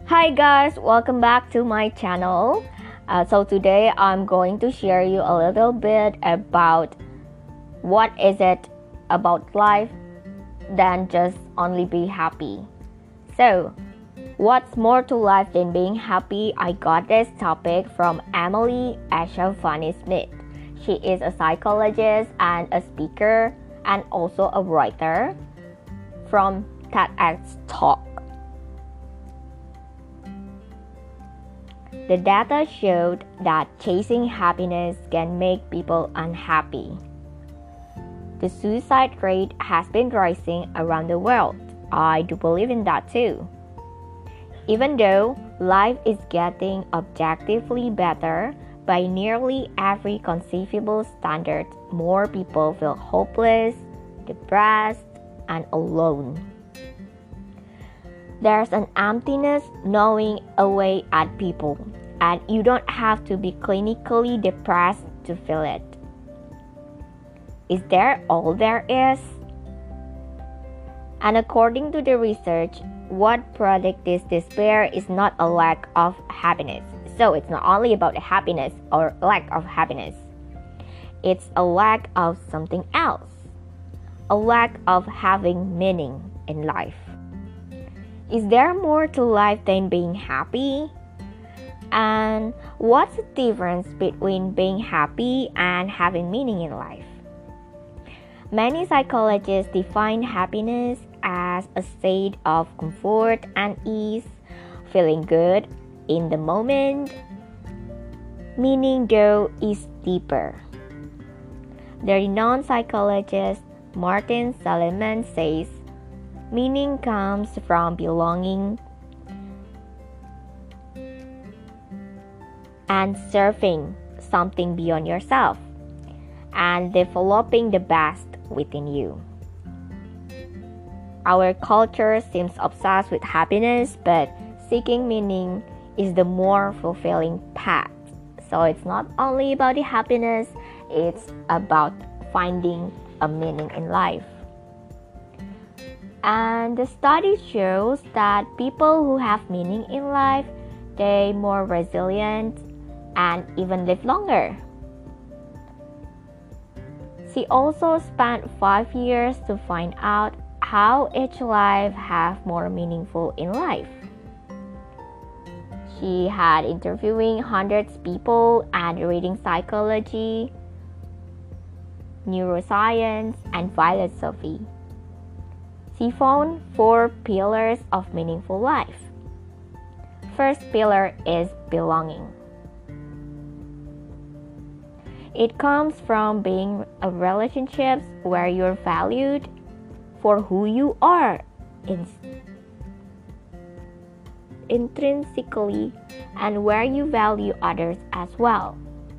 Hi guys, welcome back to my channel. So today I'm going to share you a little bit about what is it about life than just only be happy. So what's more to life than being happy? I got this topic from Emily Ashafani-Smith. She is a psychologist and a speaker and also a writer from TEDx Talk. The data showed that chasing happiness can make people unhappy. The suicide rate has been rising around the world. I do believe in that too. Even though life is getting objectively better by nearly every conceivable standard, more people feel hopeless, depressed, and alone. There's an emptiness gnawing away at people, and you don't have to be clinically depressed to feel it. Is there all there is? And according to the research, what predicts this despair is not a lack of happiness. So it's not only about happiness or lack of happiness. It's a lack of something else. A lack of having meaning in life. Is there more to life than being happy? And what's the difference between being happy and having meaning in life? Many psychologists define happiness as a state of comfort and ease, feeling good in the moment. Meaning, though, is deeper. The renowned psychologist Martin Seligman says, meaning comes from belonging and serving something beyond yourself and developing the best within you. Our culture seems obsessed with happiness, but seeking meaning is the more fulfilling path. So it's not only about the happiness, it's about finding a meaning in life. And the study shows that people who have meaning in life, they're more resilient and even live longer. She also spent 5 years to find out how each life have more meaningful in life. She had interviewing hundreds of people and reading psychology, neuroscience, and philosophy. She found 4 pillars of meaningful life. First pillar is belonging. It comes from being in relationships where you're valued for who you are intrinsically and where you value others as well.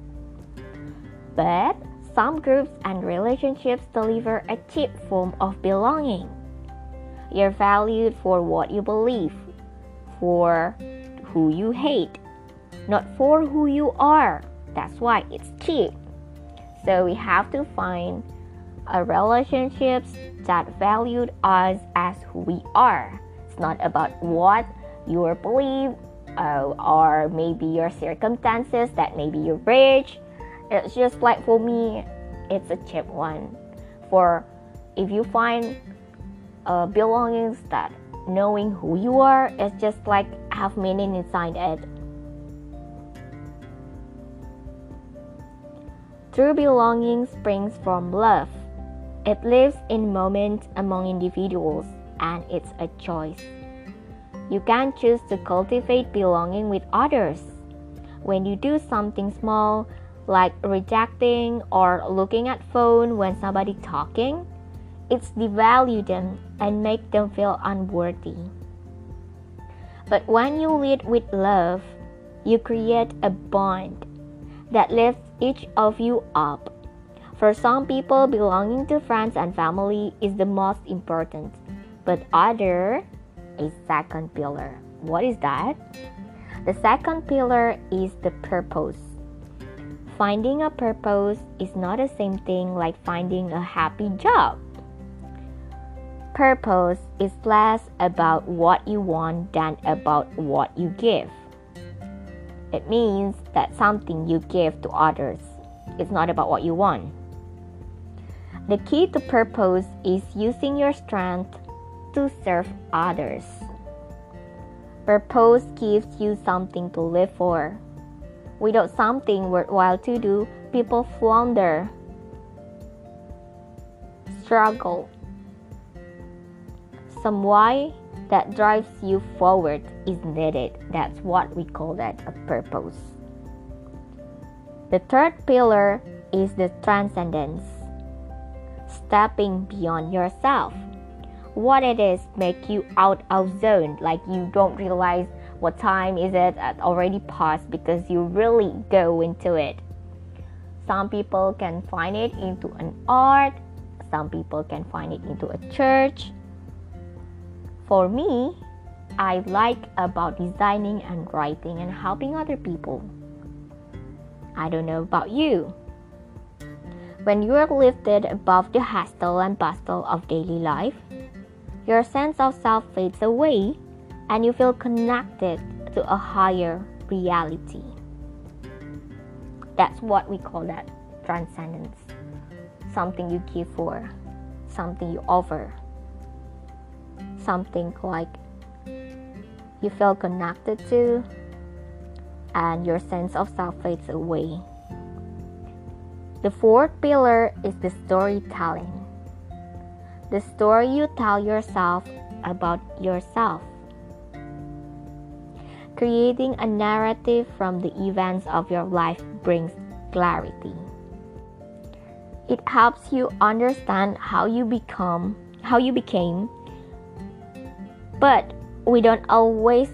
But some groups and relationships deliver a cheap form of belonging. You're valued for what you believe, for who you hate, not for who you are. That's why it's cheap. So we have to find relationships that value us as who we are. It's not about what you believe or maybe your circumstances, that maybe you're rich. It's just like for me, it's a cheap one. For if you find belongings that knowing who you are, it's just like have meaning inside it. True belonging springs from love. It lives in moments among individuals, and it's a choice. You can choose to cultivate belonging with others. When you do something small, like rejecting or looking at phone when somebody talking, it's devalue them and make them feel unworthy. But when you lead with love, you create a bond that lifts each of you up. For some people, belonging to friends and family is the most important, but other a second pillar. What is that? The second pillar is the purpose. Finding a purpose is not the same thing like finding a happy job. purpose is less about what you want than about what you give. It means that something you give to others. It's not about what you want. The key to purpose is using your strength to serve others. Purpose gives you something to live for. Without something worthwhile to do, people flounder, struggle. Some why that drives you forward is needed. That's what we call that a purpose. The third pillar is the transcendence. Stepping beyond yourself. What it is make you out of zone, like you don't realize what time is it already passed because you really go into it. Some people can find it into an art, some people can find it into a church. For me, I like about designing and writing and helping other people. I don't know about you. When you are lifted above the hustle and bustle of daily life, your sense of self fades away and you feel connected to a higher reality. That's what we call that transcendence. Something you give for, something you offer, something like you feel connected to and your sense of self fades away. The fourth pillar is the storytelling. The story you tell yourself about yourself. Creating a narrative from the events of your life brings clarity. It helps you understand how you became, but we don't always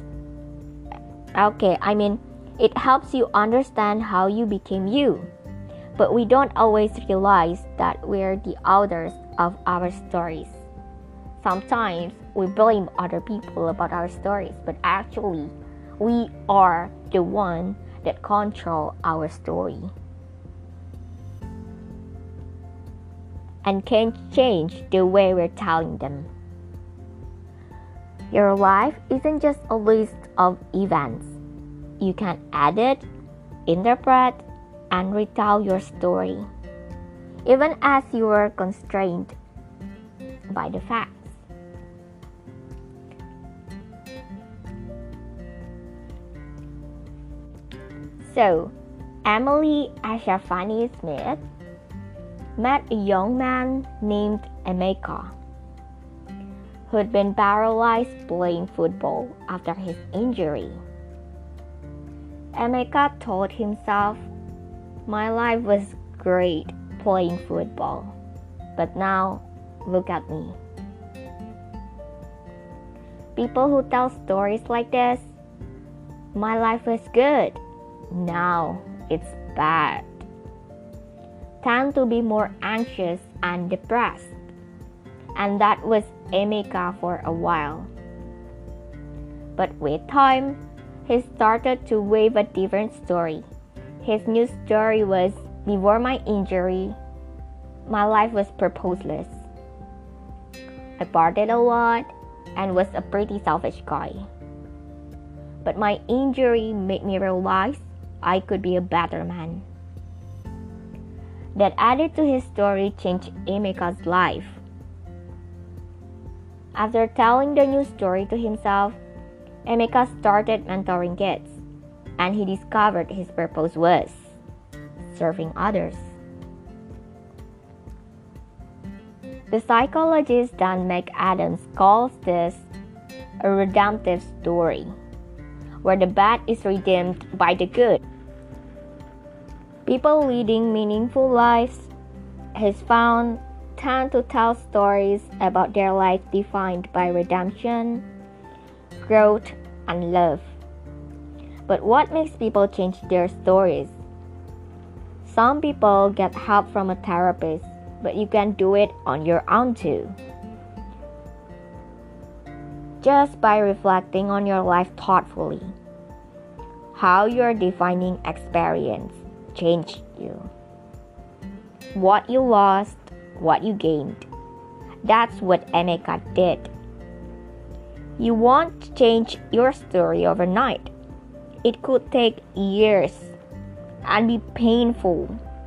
it helps you understand how you became you. But we don't always realize that we're the authors of our stories. Sometimes we blame other people about our stories, but actually, we are the one that control our story and can change the way we're telling them. Your life isn't just a list of events. You can edit, interpret, and retell your story, even as you are constrained by the facts. So, Emily Ashafani Smith met a young man named Emeka, who'd been paralyzed playing football after his injury. Emeka told himself, "My life was great playing football, but now look at me." People who tell stories like this, "My life was good, now it's bad," tend to be more anxious and depressed. And that was Emeka for a while. But with time, he started to weave a different story. His new story was, "Before my injury, my life was purposeless. I partied a lot and was a pretty selfish guy. But my injury made me realize I could be a better man." That added to his story changed Emeka's life. After telling the new story to himself, Emeka started mentoring kids, and he discovered his purpose was serving others. The psychologist Dan McAdams calls this a redemptive story, where the bad is redeemed by the good. People leading meaningful lives, he's found, tend to tell stories about their life defined by redemption, growth, and love. But what makes people change their stories? Some people get help from a therapist, but you can do it on your own too. Just by reflecting on your life thoughtfully, how your defining experience changed you. What you lost, what you gained, That's what Emeka did. You won't change your story overnight. It could take years and be painful.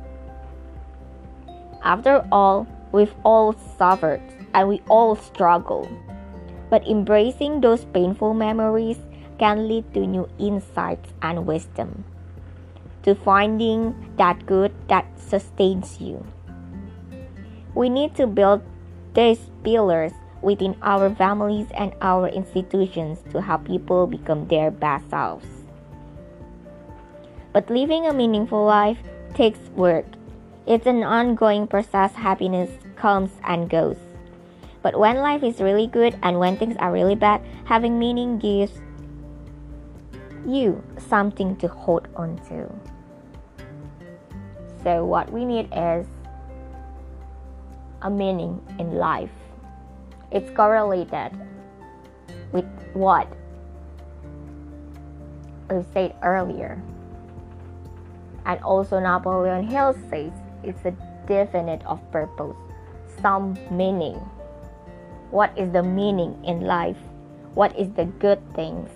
After all, we've all suffered and we all struggle. But embracing those painful memories can lead to new insights and wisdom, to finding that good that sustains you. We need to build these pillars within our families and our institutions to help people become their best selves. But living a meaningful life takes work. It's an ongoing process. Happiness comes and goes. But when life is really good and when things are really bad, having meaning gives you something to hold on to. So what we need is a meaning in life. It's correlated with what we said earlier. And also Napoleon Hill says it's a definite of purpose, some meaning. What is the meaning in life? What is the good things?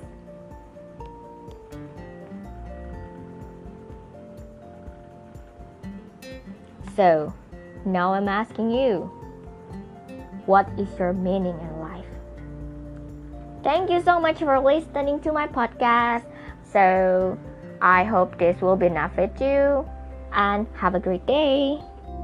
So, now I'm asking you, what is your meaning in life? Thank you so much for listening to my podcast. So, I hope this will benefit you and have a great day.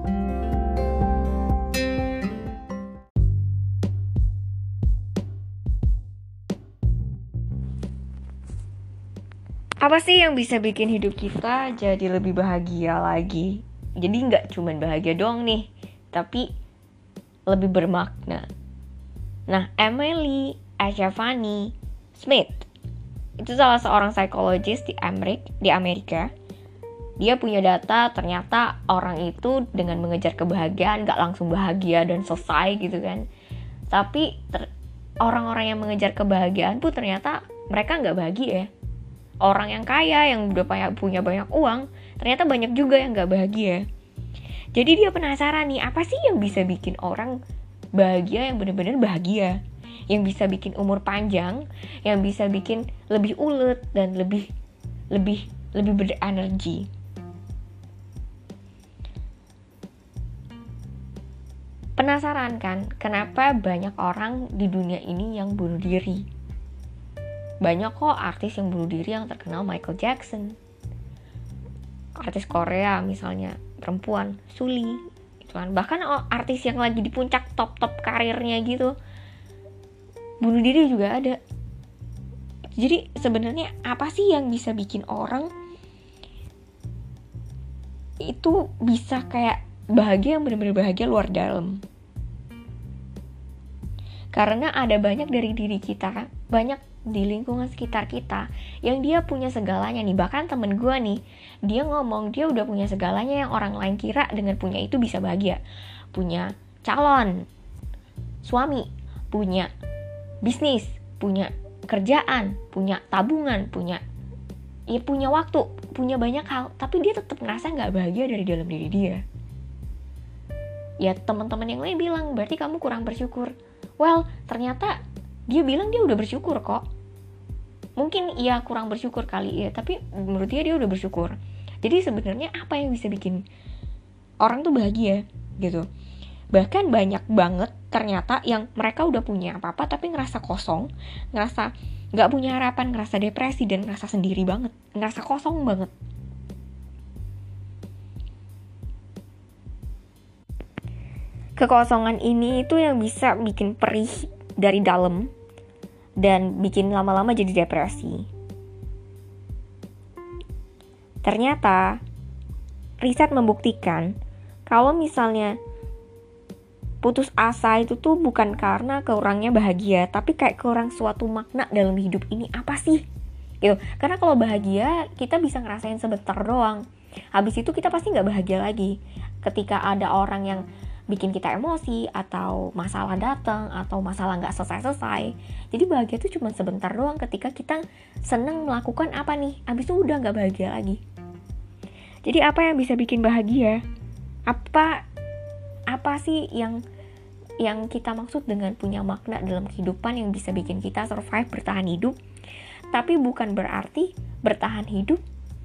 Apa sih yang bisa bikin hidup kita jadi lebih bahagia lagi? Jadi nggak cuma bahagia doang nih, tapi lebih bermakna. Nah, Emily Ashafani Smith itu salah seorang psikologis di Amerika. Dia punya data ternyata orang itu dengan mengejar kebahagiaan nggak langsung bahagia dan selesai gitu kan. Tapi orang-orang yang mengejar kebahagiaan pun ternyata mereka nggak bahagia ya. Orang yang kaya, yang udah punya banyak uang, ternyata banyak juga yang gak bahagia. Jadi dia penasaran nih, apa sih yang bisa bikin orang bahagia, yang benar-benar bahagia, yang bisa bikin umur panjang, yang bisa bikin lebih ulet dan lebih berenergi. Penasaran kan, kenapa banyak orang di dunia ini yang bunuh diri? Banyak kok artis yang bunuh diri yang terkenal, Michael Jackson, artis Korea misalnya, perempuan, Suli gitu kan. Bahkan artis yang lagi di puncak top karirnya gitu, bunuh diri juga ada. Jadi sebenarnya apa sih yang bisa bikin orang itu bisa kayak bahagia, yang benar-benar bahagia luar dalam? Karena ada banyak dari diri kita, banyak di lingkungan sekitar kita yang dia punya segalanya nih. Bahkan temen gue nih, dia ngomong dia udah punya segalanya yang orang lain kira dengan punya itu bisa bahagia. Punya calon suami, punya bisnis, punya kerjaan, punya tabungan, punya waktu, punya banyak hal, tapi dia tetap ngerasa gak bahagia dari dalam diri dia. Ya teman-teman yang lain bilang, berarti kamu kurang bersyukur. Well, ternyata dia bilang dia udah bersyukur kok. Mungkin ia kurang bersyukur kali ya, tapi menurut dia udah bersyukur. Jadi sebenarnya apa yang bisa bikin orang tuh bahagia gitu? Bahkan banyak banget ternyata yang mereka udah punya apa-apa tapi ngerasa kosong, ngerasa gak punya harapan, ngerasa depresi dan ngerasa sendiri banget, ngerasa kosong banget. Kekosongan ini itu yang bisa bikin perih dari dalam dan bikin lama-lama jadi depresi. Ternyata riset membuktikan kalau misalnya putus asa itu tuh bukan karena kurangnya bahagia, tapi kayak kurang suatu makna dalam hidup ini apa sih? Gitu. Karena kalau bahagia kita bisa ngerasain sebentar doang. Habis itu kita pasti nggak bahagia lagi. Ketika ada orang yang bikin kita emosi, atau masalah datang, atau masalah gak selesai-selesai. Jadi bahagia itu cuma sebentar doang ketika kita seneng melakukan apa nih, abis itu udah gak bahagia lagi. Jadi apa yang bisa bikin bahagia? Apa sih yang yang kita maksud dengan punya makna dalam kehidupan yang bisa bikin kita survive, bertahan hidup. Tapi bukan berarti bertahan hidup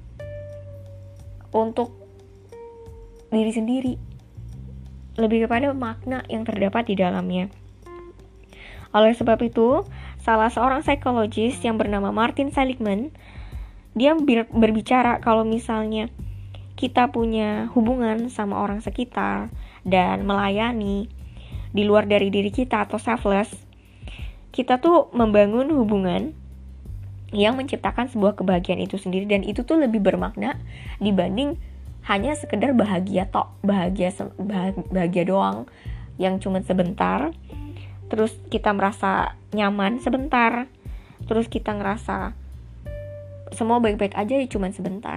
untuk diri sendiri, lebih kepada makna yang terdapat di dalamnya. Oleh sebab itu, salah seorang psikologis yang bernama Martin Seligman, dia berbicara kalau misalnya kita punya hubungan sama orang sekitar dan melayani di luar dari diri kita atau selfless, kita tuh membangun hubungan yang menciptakan sebuah kebahagiaan itu sendiri, dan itu tuh lebih bermakna dibanding hanya sekedar bahagia bahagia doang yang cuma sebentar, terus kita merasa nyaman sebentar, terus kita ngerasa semua baik-baik aja ya cuma sebentar.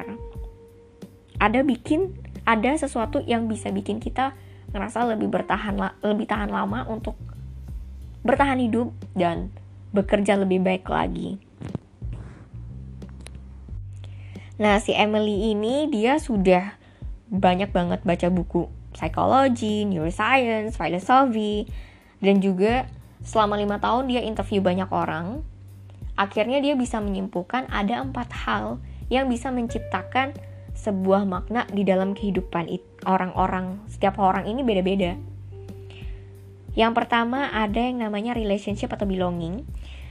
Ada sesuatu yang bisa bikin kita ngerasa lebih tahan lama untuk bertahan hidup dan bekerja lebih baik lagi. Nah, si Emily ini dia sudah banyak banget baca buku psikologi, neuroscience, filosofi, dan juga selama 5 tahun dia interview banyak orang. Akhirnya dia bisa menyimpulkan ada 4 hal yang bisa menciptakan sebuah makna di dalam kehidupan orang-orang. Setiap orang ini beda-beda. Yang pertama ada yang namanya relationship atau belonging.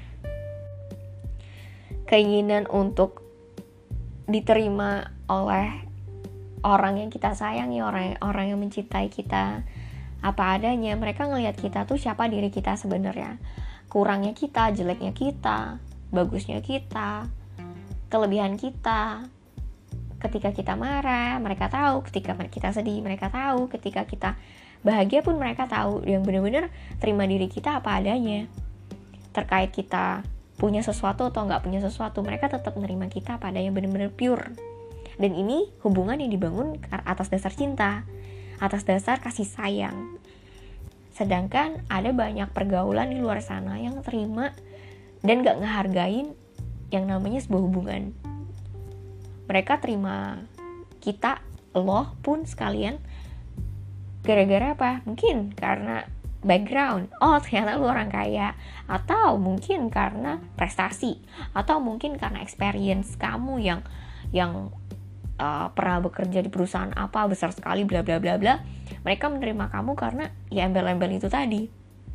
Keinginan untuk diterima oleh orang yang kita sayangi, orang yang mencintai kita apa adanya. Mereka ngelihat kita tuh siapa diri kita sebenarnya, kurangnya kita, jeleknya kita, bagusnya kita, kelebihan kita. Ketika kita marah, mereka tahu. Ketika kita sedih, mereka tahu. Ketika kita bahagia pun mereka tahu. Yang benar-benar terima diri kita apa adanya. Terkait kita punya sesuatu atau nggak punya sesuatu, mereka tetap menerima kita pada yang benar-benar pure. Dan ini hubungan yang dibangun atas dasar cinta, atas dasar kasih sayang. Sedangkan ada banyak pergaulan di luar sana yang terima dan nggak ngehargain yang namanya sebuah hubungan. Mereka terima kita, lo pun sekalian, gara-gara apa? Mungkin karena background, ternyata lu orang kaya, atau mungkin karena prestasi, atau mungkin karena experience kamu yang pernah bekerja di perusahaan apa besar sekali, bla bla bla bla. Mereka menerima kamu karena ya embel-embel itu tadi.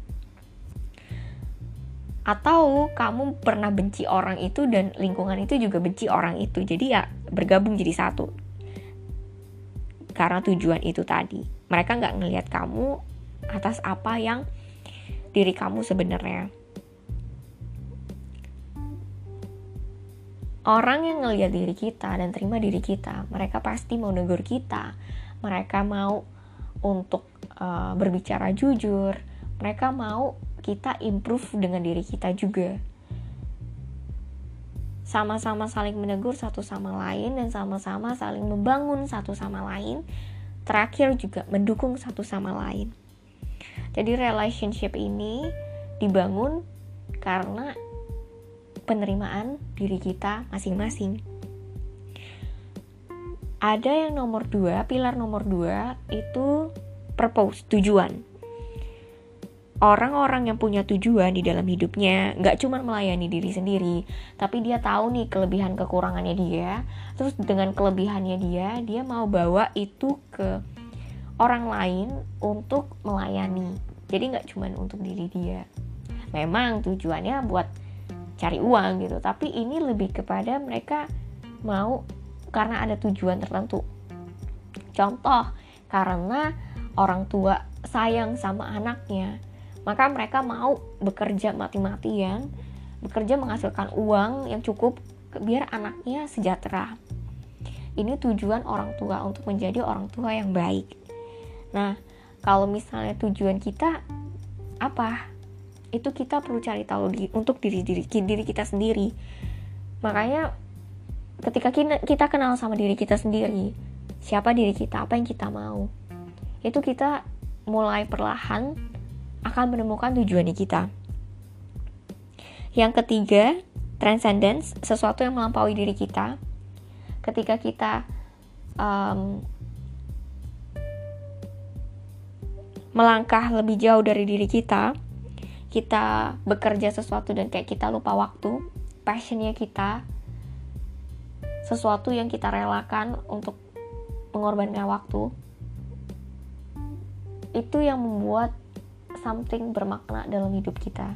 Atau kamu pernah benci orang itu dan lingkungan itu juga benci orang itu, jadi ya bergabung jadi satu karena tujuan itu tadi. Mereka nggak ngelihat kamu atas apa yang diri kamu sebenarnya. Orang yang ngelihat diri kita dan terima diri kita, mereka pasti mau negur kita, mereka mau untuk berbicara jujur, mereka mau kita improve dengan diri kita juga. Sama-sama saling menegur satu sama lain dan sama-sama saling membangun satu sama lain. Terakhir juga mendukung satu sama lain. Jadi relationship ini dibangun karena penerimaan diri kita masing-masing. Ada yang nomor 2, pilar nomor 2 itu purpose, tujuan. Orang-orang yang punya tujuan di dalam hidupnya gak cuma melayani diri sendiri, tapi dia tahu nih kelebihan kekurangannya dia. Terus dengan kelebihannya dia mau bawa itu ke orang lain untuk melayani. Jadi gak cuma untuk diri dia. Memang tujuannya buat cari uang gitu, tapi ini lebih kepada mereka mau karena ada tujuan tertentu. Contoh, karena orang tua sayang sama anaknya, maka mereka mau bekerja mati-matian, bekerja menghasilkan uang yang cukup biar anaknya sejahtera. Ini tujuan orang tua untuk menjadi orang tua yang baik. Nah, kalau misalnya tujuan kita apa? Itu kita perlu cari tahu untuk diri kita sendiri. Makanya ketika kita kenal sama diri kita sendiri, siapa diri kita, apa yang kita mau, itu kita mulai perlahan akan menemukan tujuannya kita. Yang ketiga, transcendence, sesuatu yang melampaui diri kita. Ketika kita melangkah lebih jauh dari diri kita bekerja sesuatu dan kayak kita lupa waktu, passionnya kita, sesuatu yang kita relakan untuk mengorbankan waktu, itu yang membuat something bermakna dalam hidup kita.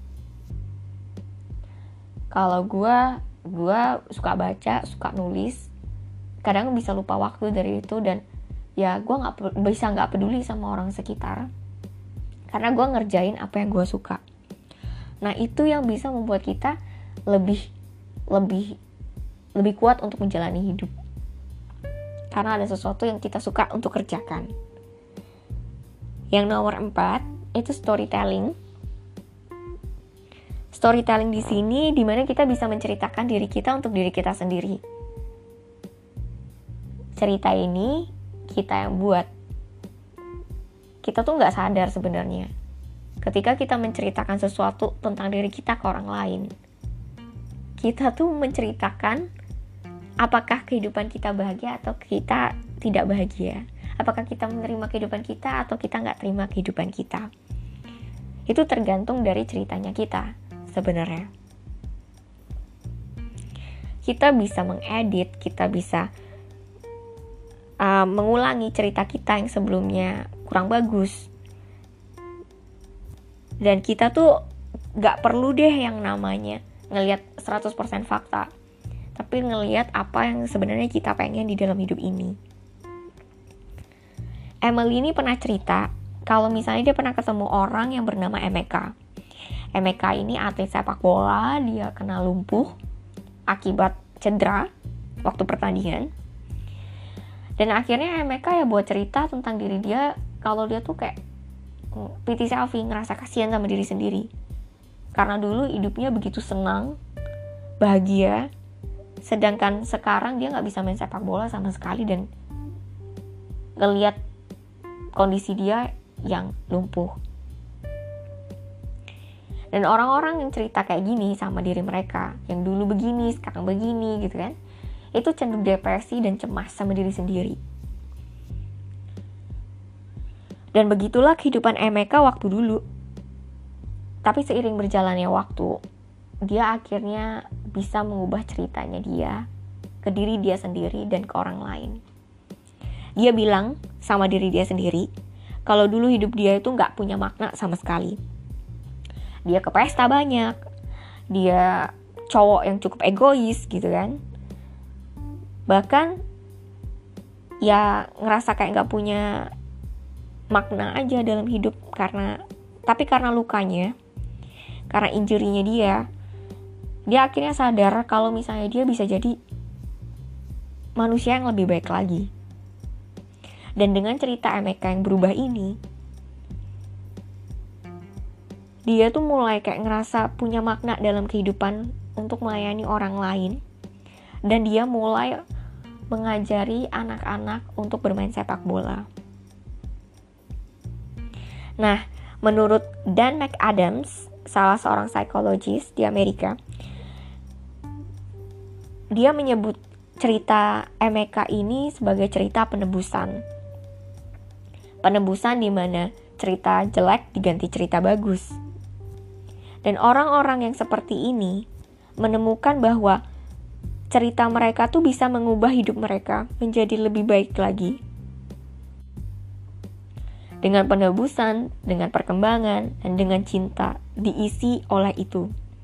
Kalau gue suka baca, suka nulis, kadang bisa lupa waktu dari itu, dan ya gue nggak peduli sama orang sekitar karena gue ngerjain apa yang gue suka. Nah itu yang bisa membuat kita lebih kuat untuk menjalani hidup, karena ada sesuatu yang kita suka untuk kerjakan. Yang nomor 4 itu storytelling. Storytelling di sini dimana kita bisa menceritakan diri kita untuk diri kita sendiri. Cerita ini kita yang buat. Kita tuh nggak sadar sebenarnya ketika kita menceritakan sesuatu tentang diri kita ke orang lain. Kita tuh menceritakan apakah kehidupan kita bahagia atau kita tidak bahagia. Apakah kita menerima kehidupan kita atau kita nggak terima kehidupan kita. Itu tergantung dari ceritanya kita sebenarnya. Kita bisa mengedit, kita bisa mengulangi cerita kita yang sebelumnya kurang bagus. Dan kita tuh gak perlu deh yang namanya ngelihat 100% fakta, tapi ngelihat apa yang sebenarnya kita pengen di dalam hidup ini. Emily ini pernah cerita kalau misalnya dia pernah ketemu orang yang bernama Emeka. Emeka ini atlet sepak bola, dia kena lumpuh akibat cedera waktu pertandingan. Dan akhirnya Emeka ya buat cerita tentang diri dia, kalau dia tuh kayak pity selfie, ngerasa kasihan sama diri sendiri. Karena dulu hidupnya begitu senang, bahagia, sedangkan sekarang dia gak bisa main sepak bola sama sekali dan ngeliat kondisi dia yang lumpuh. Dan orang-orang yang cerita kayak gini sama diri mereka, yang dulu begini, sekarang begini gitu kan, itu cenderung depresi dan cemas sama diri sendiri. Dan begitulah kehidupan Emeka waktu dulu. Tapi seiring berjalannya waktu, dia akhirnya bisa mengubah ceritanya dia ke diri dia sendiri dan ke orang lain. Dia bilang sama diri dia sendiri, kalau dulu hidup dia itu gak punya makna sama sekali. Dia ke pesta banyak, dia cowok yang cukup egois gitu kan. Bahkan ya ngerasa kayak gak punya makna aja dalam hidup, karena lukanya, karena injury-nya dia akhirnya sadar kalau misalnya dia bisa jadi manusia yang lebih baik lagi. Dan dengan cerita Emeka yang berubah ini, dia tuh mulai kayak ngerasa punya makna dalam kehidupan untuk melayani orang lain. Dan dia mulai mengajari anak-anak untuk bermain sepak bola. Nah, menurut Dan McAdams, salah seorang psikologis di Amerika, dia menyebut cerita Emeka ini sebagai cerita penebusan. Penebusan di mana cerita jelek diganti cerita bagus. Dan orang-orang yang seperti ini menemukan bahwa cerita mereka tuh bisa mengubah hidup mereka menjadi lebih baik lagi. Dengan penebusan, dengan perkembangan, dan dengan cinta diisi oleh itu.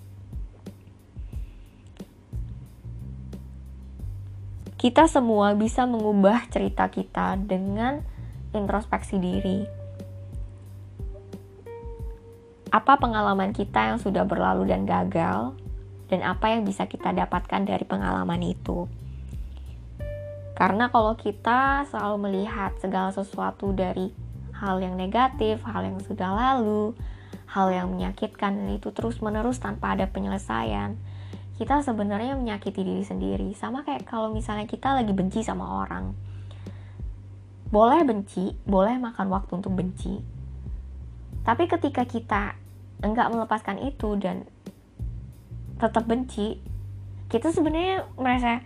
Kita semua bisa mengubah cerita kita dengan introspeksi diri. Apa pengalaman kita yang sudah berlalu dan gagal, dan apa yang bisa kita dapatkan dari pengalaman itu. Karena kalau kita selalu melihat segala sesuatu dari hal yang negatif, hal yang sudah lalu, hal yang menyakitkan, dan itu terus-menerus tanpa ada penyelesaian, kita sebenarnya menyakiti diri sendiri. Sama kayak kalau misalnya kita lagi benci sama orang. Boleh benci, boleh makan waktu untuk benci. Tapi ketika kita enggak melepaskan itu dan tetap benci, kita sebenarnya merasa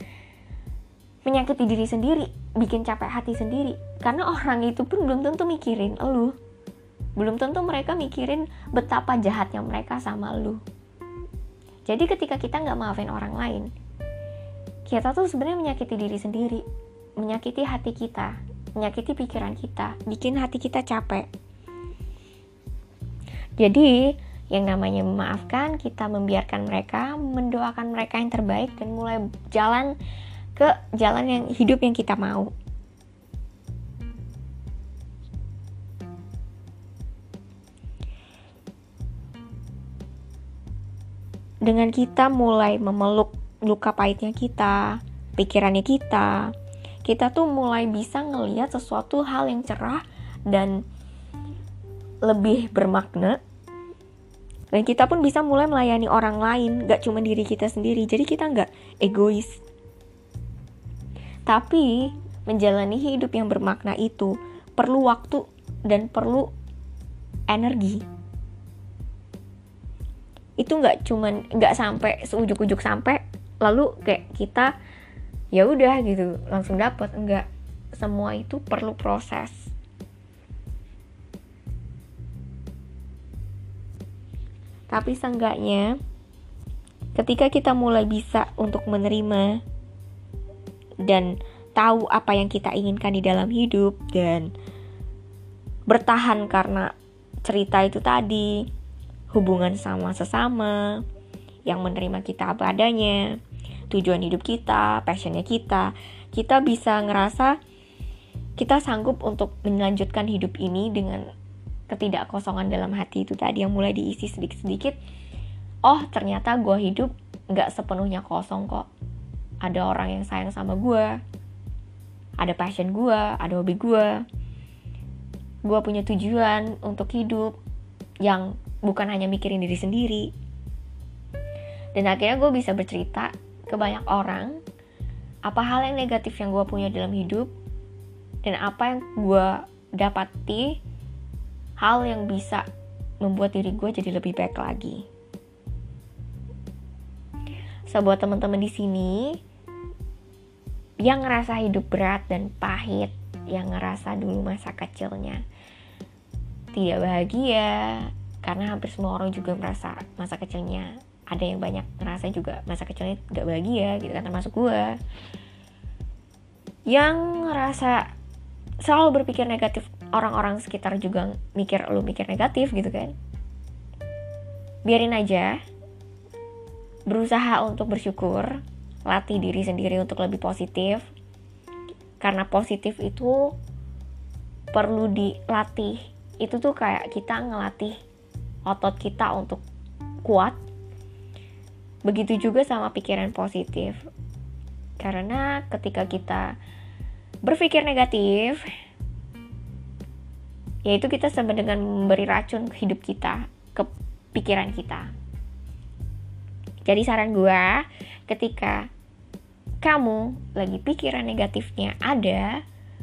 menyakiti diri sendiri, bikin capek hati sendiri. Karena orang itu pun belum tentu mikirin elu. belum tentu mereka mikirin betapa jahatnya mereka sama lu. Jadi ketika kita gak maafin orang lain, kita tuh sebenarnya menyakiti diri sendiri, menyakiti hati kita, menyakiti pikiran kita, bikin hati kita capek. Jadi yang namanya memaafkan, kita membiarkan mereka, mendoakan mereka yang terbaik, dan mulai jalan ke jalan yang hidup yang kita mau. Dengan kita mulai memeluk luka pahitnya kita, pikirannya kita tuh mulai bisa ngelihat sesuatu hal yang cerah dan lebih bermakna. Dan kita pun bisa mulai melayani orang lain, gak cuma diri kita sendiri. Jadi kita gak egois. Tapi menjalani hidup yang bermakna itu perlu waktu dan perlu energi. Itu nggak sampai seujuk-ujuk sampai lalu kayak kita ya udah gitu langsung dapat. Enggak, semua itu perlu proses. Tapi seenggaknya ketika kita mulai bisa untuk menerima dan tahu apa yang kita inginkan di dalam hidup dan bertahan karena cerita itu tadi, hubungan sama sesama yang menerima kita apa adanya, tujuan hidup kita, passionnya kita bisa ngerasa kita sanggup untuk melanjutkan hidup ini dengan ketidakkosongan dalam hati itu tadi yang mulai diisi sedikit-sedikit. Oh, ternyata gue hidup gak sepenuhnya kosong kok. Ada orang yang sayang sama gue, ada passion gue, ada hobi gue punya tujuan untuk hidup yang bukan hanya mikirin diri sendiri. Dan akhirnya gue bisa bercerita ke banyak orang apa hal yang negatif yang gue punya dalam hidup dan apa yang gue dapati, hal yang bisa membuat diri gue jadi lebih baik lagi. So, buat teman-teman di sini yang ngerasa hidup berat dan pahit, yang ngerasa dulu masa kecilnya tidak bahagia, karena hampir semua orang juga merasa masa kecilnya, ada yang banyak ngerasa juga masa kecilnya gak bahagia gitu kan, termasuk gue yang ngerasa selalu berpikir negatif, orang-orang sekitar juga mikir negatif gitu kan. Biarin aja, berusaha untuk bersyukur, latih diri sendiri untuk lebih positif, karena positif itu perlu dilatih. Itu tuh kayak kita ngelatih otot kita untuk kuat. Begitu juga sama pikiran positif. Karena ketika kita berpikir negatif, yaitu kita sama dengan memberi racun ke hidup kita, ke pikiran kita. Jadi saran gue, ketika kamu lagi pikiran negatifnya ada,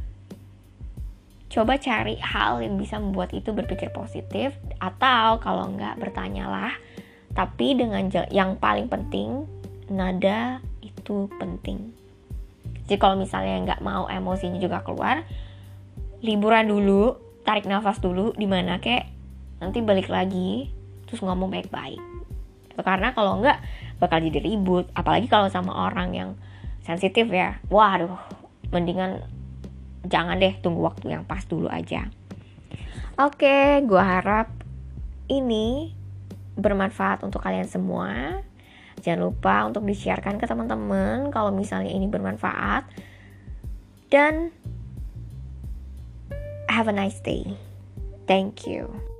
coba cari hal yang bisa membuat itu berpikir positif. Atau kalau enggak, bertanyalah. Tapi dengan yang paling penting, nada itu penting. Jadi kalau misalnya enggak mau emosinya juga keluar, liburan dulu, tarik nafas dulu, dimana kek, nanti balik lagi, terus ngomong baik-baik. Karena kalau enggak, bakal jadi ribut. Apalagi kalau sama orang yang sensitif ya. Waduh, mendingan jangan deh, tunggu waktu yang pas dulu aja. Oke, gue harap ini bermanfaat untuk kalian semua. Jangan lupa untuk di-sharekan ke teman-teman kalau misalnya ini bermanfaat. Dan have a nice day. Thank you.